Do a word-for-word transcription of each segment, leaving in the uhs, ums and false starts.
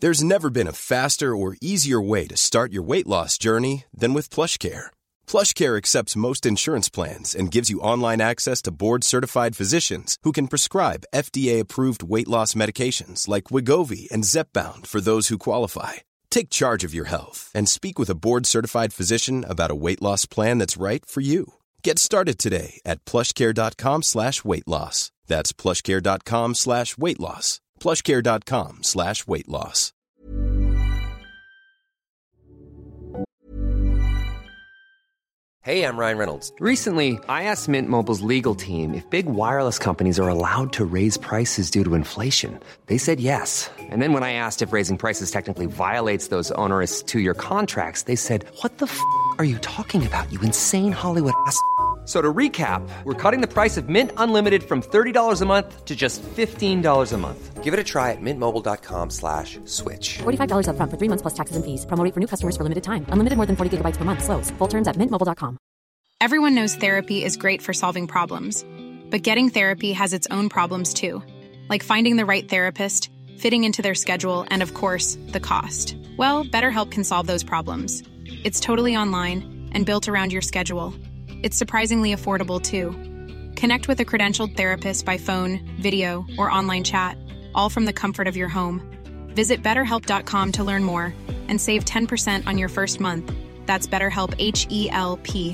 There's never been a faster or easier way to start your weight loss journey than with PlushCare. PlushCare accepts most insurance plans and gives you online access to board-certified physicians who can prescribe F D A-approved weight loss medications like Wegovy and Zepbound for those who qualify. Take charge of your health and speak with a board-certified physician about a weight loss plan that's right for you. Get started today at plushcare.com slash weight loss. That's plushcare.com slash weight loss. plushcare.com slash weight loss. Hey, I'm Ryan Reynolds. Recently, I asked Mint Mobile's legal team if big wireless companies are allowed to raise prices due to inflation. They said yes. And then when I asked if raising prices technically violates those onerous two-year contracts, they said, "What the f*** are you talking about, you insane Hollywood ass?" So to recap, we're cutting the price of Mint Unlimited from thirty dollars a month to just fifteen dollars a month. Give it a try at mintmobile.com slash switch. forty-five dollars up front for three months plus taxes and fees. Promo rate for new customers for limited time. Unlimited more than forty gigabytes per month. Slows full terms at mint mobile dot com. Everyone knows therapy is great for solving problems. But getting therapy has its own problems too. Like finding the right therapist, fitting into their schedule, and of course, the cost. Well, BetterHelp can solve those problems. It's totally online and built around your schedule. It's surprisingly affordable, too. Connect with a credentialed therapist by phone, video, or online chat, all from the comfort of your home. Visit better help dot com to learn more and save ten percent on your first month. That's BetterHelp, H E L P.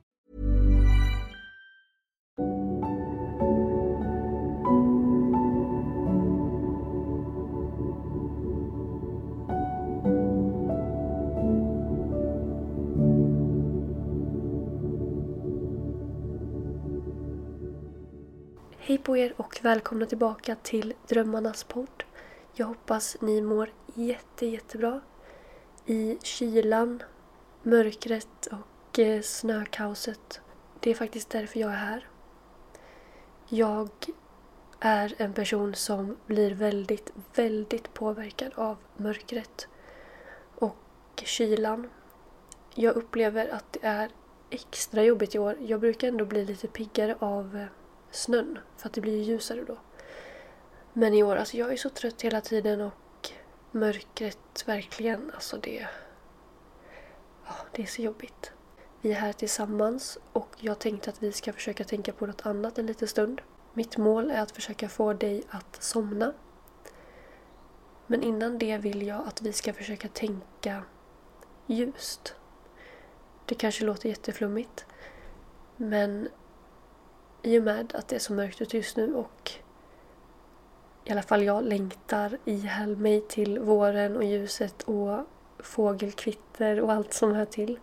Hej på er och välkomna tillbaka till Drömmarnas podd. Jag hoppas ni mår jätte, jättebra i kylan, mörkret och eh, snökaoset. Det är faktiskt därför jag är här. Jag är en person som blir väldigt, väldigt påverkad av mörkret och kylan. Jag upplever att det är extra jobbigt i år. Jag brukar ändå bli lite piggare av eh, snön, för att det blir ljusare då. Men i år, alltså jag är så trött hela tiden och mörkret verkligen, alltså det, ja, det är så jobbigt. Vi är här tillsammans och jag tänkte att vi ska försöka tänka på något annat en liten stund. Mitt mål är att försöka få dig att somna. Men innan det vill jag att vi ska försöka tänka ljust. Det kanske låter jätteflummigt, men i och med att det är så mörkt ute just nu och i alla fall jag längtar ihjäl mig till våren och ljuset och fågelkvitter och allt som hör till.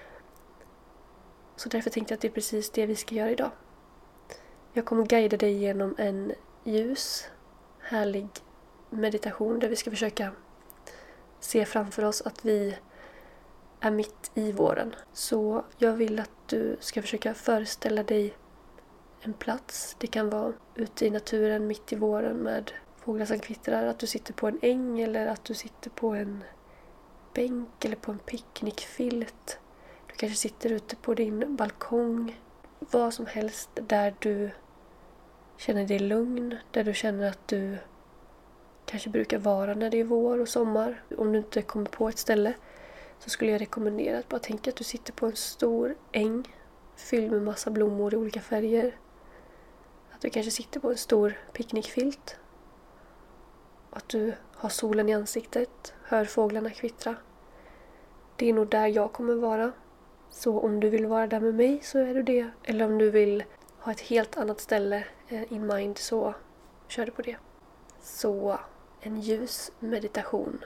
Så därför tänkte jag att det är precis det vi ska göra idag. Jag kommer guida dig genom en ljus, härlig meditation där vi ska försöka se framför oss att vi är mitt i våren. Så jag vill att du ska försöka föreställa dig en plats. Det kan vara ute i naturen mitt i våren med fåglar som kvittrar. Att du sitter på en äng eller att du sitter på en bänk eller på en picknickfilt. Du kanske sitter ute på din balkong. Vad som helst där du känner dig lugn. Där du känner att du kanske brukar vara när det är vår och sommar. Om du inte kommer på ett ställe så skulle jag rekommendera att bara tänka att du sitter på en stor äng fylld med massa blommor i olika färger. Att du kanske sitter på en stor picknickfilt. Att du har solen i ansiktet. Hör fåglarna kvittra. Det är nog där jag kommer vara. Så om du vill vara där med mig så är du det. Eller om du vill ha ett helt annat ställe in mind så kör du på det. Så en ljus meditation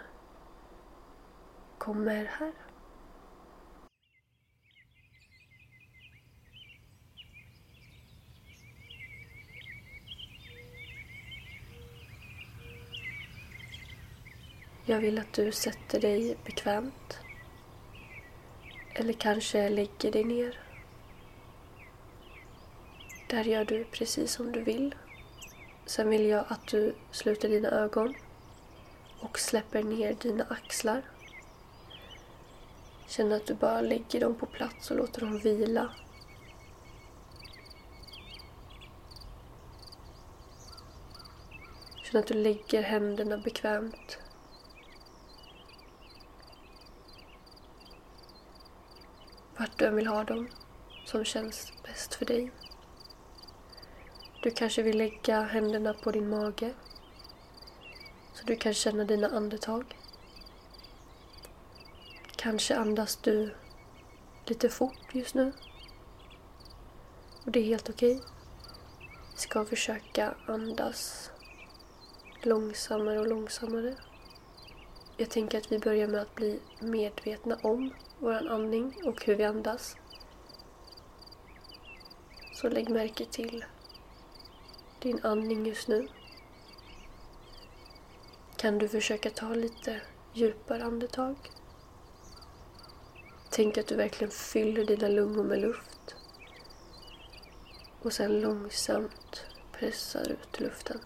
kommer här. Jag vill att du sätter dig bekvämt. Eller kanske lägger dig ner. Där gör du precis som du vill. Sen vill jag att du sluter dina ögon och släpper ner dina axlar. Känn att du bara lägger dem på plats och låter dem vila. Känn att du lägger händerna bekvämt vart du än vill ha dem som känns bäst för dig. Du kanske vill lägga händerna på din mage så du kan känna dina andetag. Kanske andas du lite fort just nu. Och det är helt okej. Vi ska försöka andas långsammare och långsammare. Jag tänker att vi börjar med att bli medvetna om vår andning och hur vi andas. Så lägg märke till din andning just nu. Kan du försöka ta lite djupare andetag? Tänk att du verkligen fyller dina lungor med luft. Och sen långsamt pressar ut luften.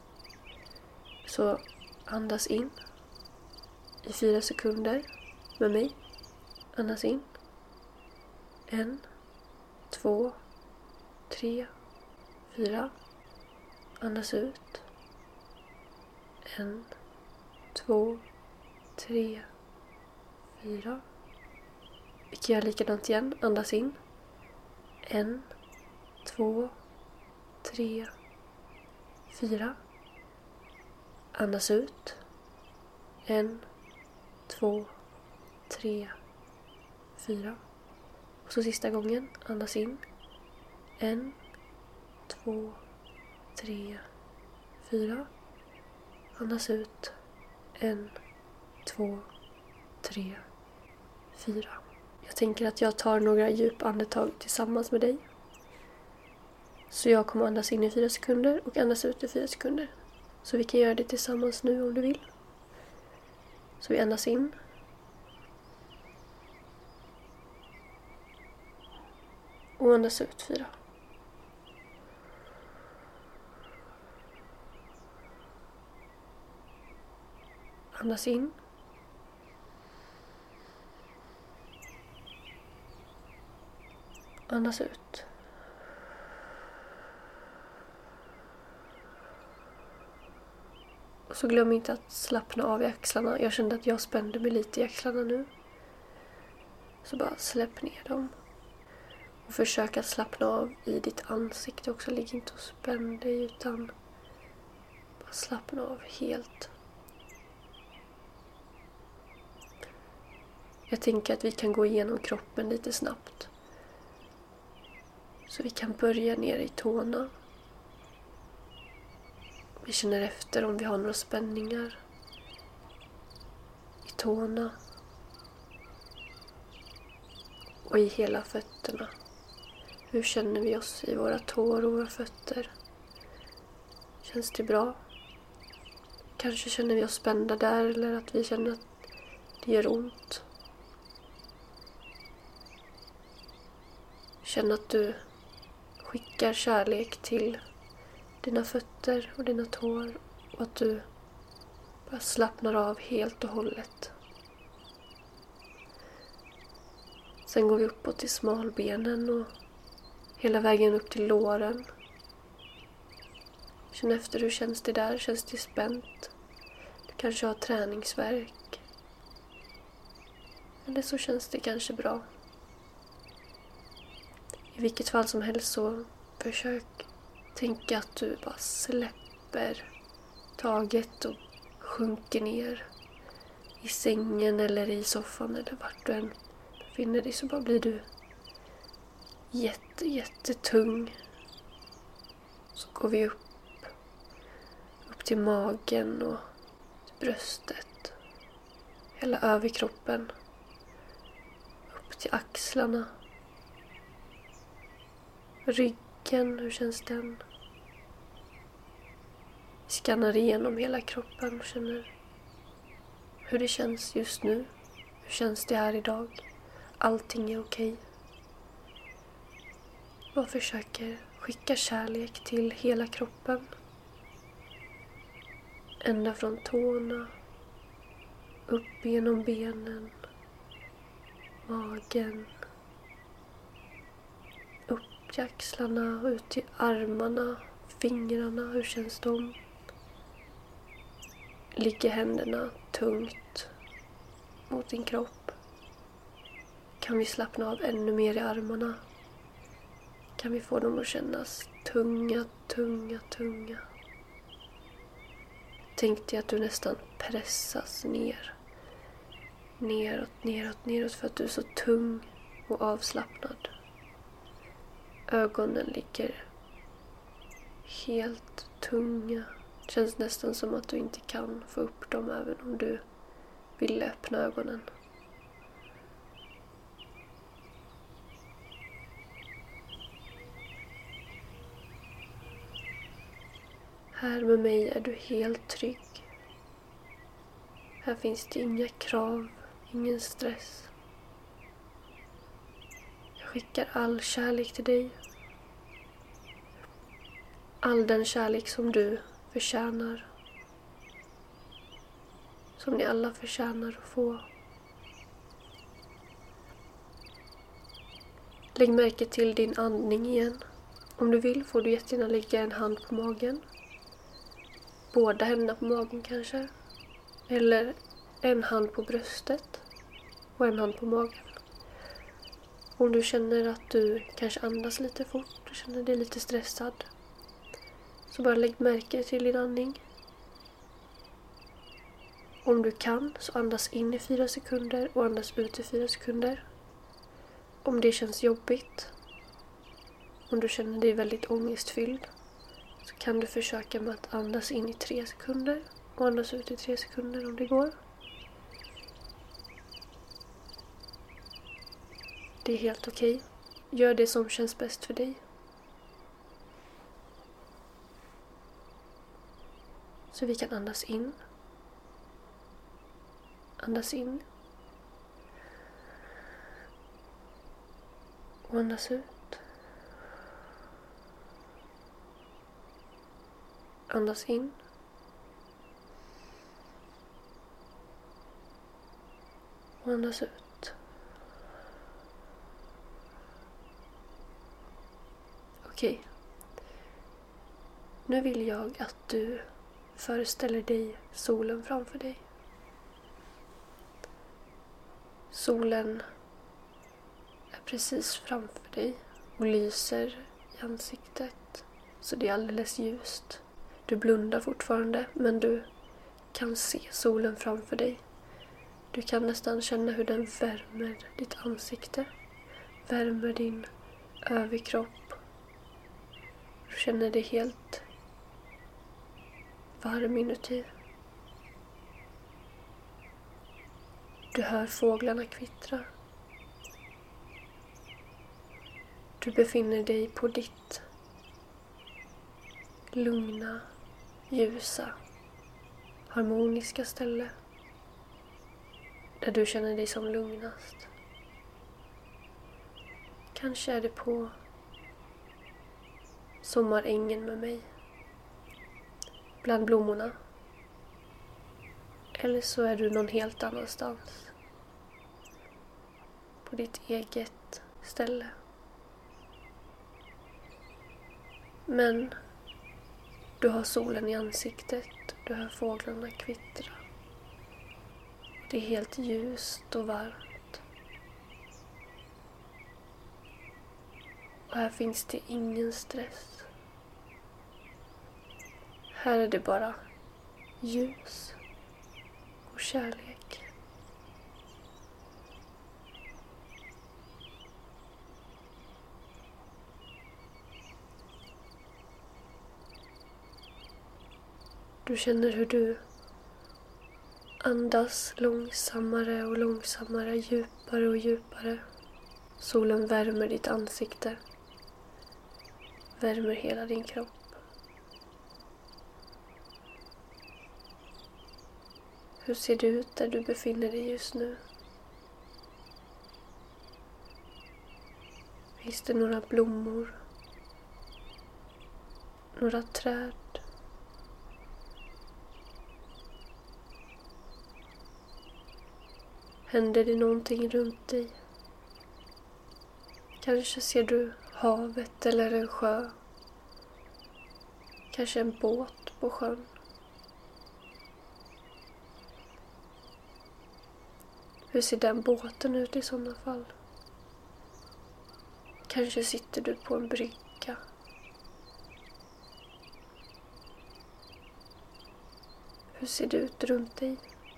Så andas in i fyra sekunder med mig. Andas in. En, två, tre, fyra. Andas ut. En, två, tre, fyra. Vi kan göra likadant igen. Andas in. En, två, tre, fyra. Andas ut. En, två, tre, fyra. Och så sista gången. Andas in. En, två, tre, fyra. Andas ut. En, två, tre, fyra. Jag tänker att jag tar några djupa andetag tillsammans med dig. Så jag kommer andas in i fyra sekunder och andas ut i fyra sekunder. Så vi kan göra det tillsammans nu om du vill. Så vi andas in. Och andas ut fyra. Andas in. Andas ut. Och så glöm inte att slappna av i axlarna. Jag kände att jag spände mig lite i axlarna nu. Så bara släpp ner dem. Och försök att slappna av i ditt ansikte också. Ligg inte och spänn dig utan bara slappna av helt. Jag tänker att vi kan gå igenom kroppen lite snabbt. Så vi kan börja ner i tårna. Vi känner efter om vi har några spänningar i tårna och i hela fötterna. Hur känner vi oss i våra tår och våra fötter? Känns det bra? Kanske känner vi oss spända där eller att vi känner att det gör ont. Känn att du skickar kärlek till dina fötter och dina tår och att du bara slappnar av helt och hållet. Sen går vi uppåt till smalbenen och hela vägen upp till låren. Känn efter hur känns det där. Känns det spänt? Du kanske har träningsvärk. Eller så känns det kanske bra. I vilket fall som helst så försök tänka att du bara släpper taget och sjunker ner i sängen eller i soffan eller vart du än befinner dig, så bara blir du jätte, jättetung. Så går vi upp, upp till magen och till bröstet, hela överkroppen, upp till axlarna, ryggen, hur känns den? Vi skannar igenom hela kroppen och känner hur det känns just nu. Hur känns det här idag? Allting är okej. Och försöker skicka kärlek till hela kroppen. Ända från tårna, upp genom benen, magen, upp till axlarna, ut till armarna, fingrarna, hur känns de? Ligger händerna tungt mot din kropp? kan vi slappna av ännu mer i armarna. Kan vi få dem att kännas tunga, tunga, tunga. Tänk dig att du nästan pressas ner. Neråt, neråt, neråt för att du är så tung och avslappnad. Ögonen ligger helt tunga. Det känns nästan som att du inte kan få upp dem även om du vill öppna ögonen. Här med mig är du helt trygg. Här finns det inga krav, ingen stress. Jag skickar all kärlek till dig. All den kärlek som du förtjänar. Som ni alla förtjänar att få. Lägg märke till din andning igen. Om du vill får du jättegärna lägga en hand på magen. Båda händerna på magen kanske. Eller en hand på bröstet och en hand på magen. Om du känner att du kanske andas lite fort och känner dig lite stressad, så bara lägg märke till din andning. Om du kan så andas in i fyra sekunder och andas ut i fyra sekunder. Om det känns jobbigt, om du känner dig väldigt ångestfylld, så kan du försöka med att andas in i tre sekunder och andas ut i tre sekunder om det går. Det är helt okej. Gör det som känns bäst för dig. Så vi kan andas in. Andas in. Och andas ut. Andas in. Och andas ut. Okej. Nu vill jag att du föreställer dig solen framför dig. Solen är precis framför dig och lyser i ansiktet, så det är alldeles ljust. Du blundar fortfarande, men du kan se solen framför dig. Du kan nästan känna hur den värmer ditt ansikte, värmer din överkropp. Du känner dig helt varm inuti. Du hör fåglarna kvittra. Du befinner dig på ditt lugna, ljusa, harmoniska ställe. Där du känner dig som lugnast. Kanske är det på sommarängen med mig. Bland blommorna. Eller så är du någon helt annanstans. På ditt eget ställe. Men du har solen i ansiktet. Du hör fåglarna kvittra. Det är helt ljust och varmt. Och här finns det ingen stress. Här är det bara ljus och kärlek. Du känner hur du andas långsammare och långsammare, djupare och djupare. Solen värmer ditt ansikte. Värmer hela din kropp. Hur ser det ut där du befinner dig just nu? Finns det några blommor? Några träd? Händer det någonting runt dig? Kanske ser du havet eller en sjö. Kanske en båt på sjön. Hur ser den båten ut i sådana fall? Kanske sitter du på en brygga. Hur ser det ut runt dig?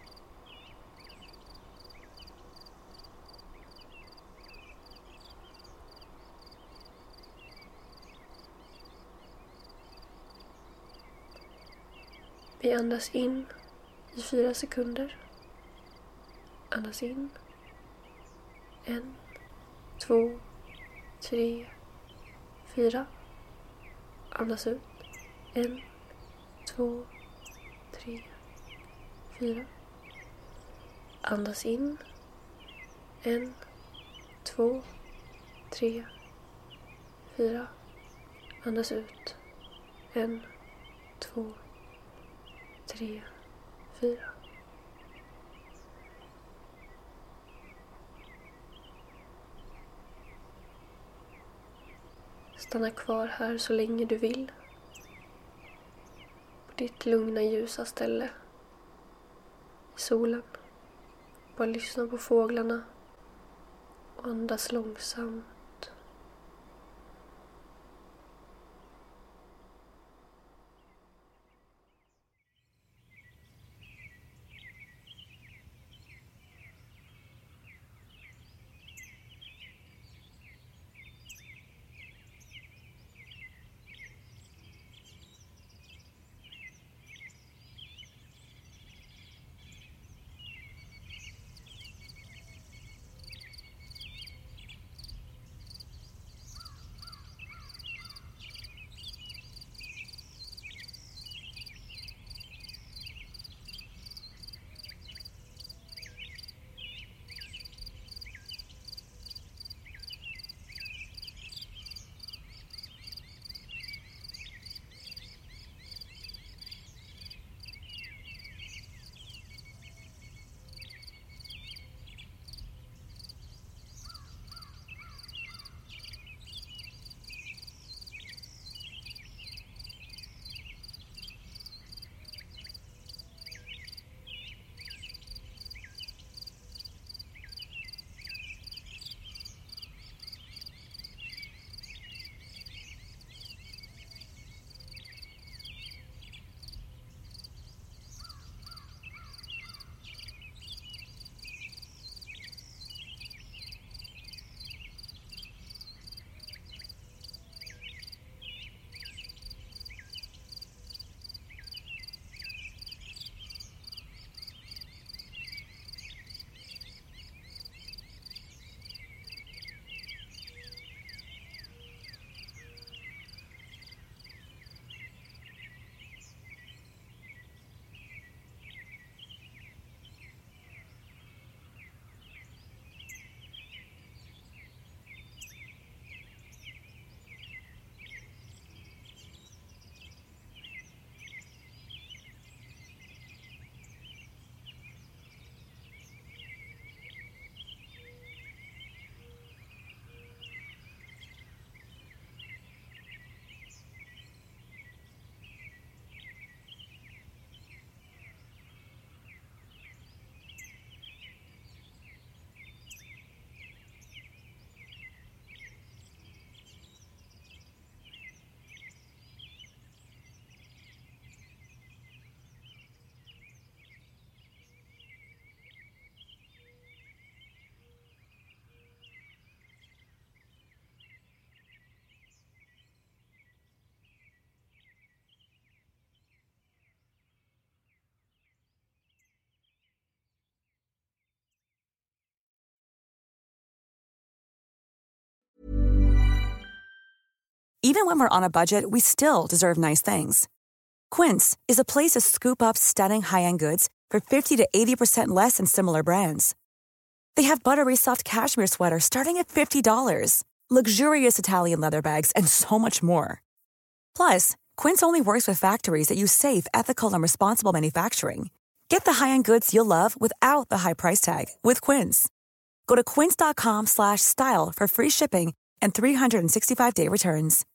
Vi andas in i fyra sekunder. Andas in. En, två, tre, fyra. Andas ut. En, två, tre, fyra. Andas in. En, två, tre, fyra. Andas ut. En, två, tre, fyra. Stanna kvar här så länge du vill. På ditt lugna ljusa ställe. I solen. Bara lyssna på fåglarna. Och andas långsamt. Even when we're on a budget, we still deserve nice things. Quince is a place to scoop up stunning high-end goods for fifty to eighty percent less than similar brands. They have buttery soft cashmere sweaters starting at fifty dollars, luxurious Italian leather bags, and so much more. Plus, Quince only works with factories that use safe, ethical, and responsible manufacturing. Get the high-end goods you'll love without the high price tag with Quince. Go to quince.com slash style for free shipping and three hundred sixty-five day returns.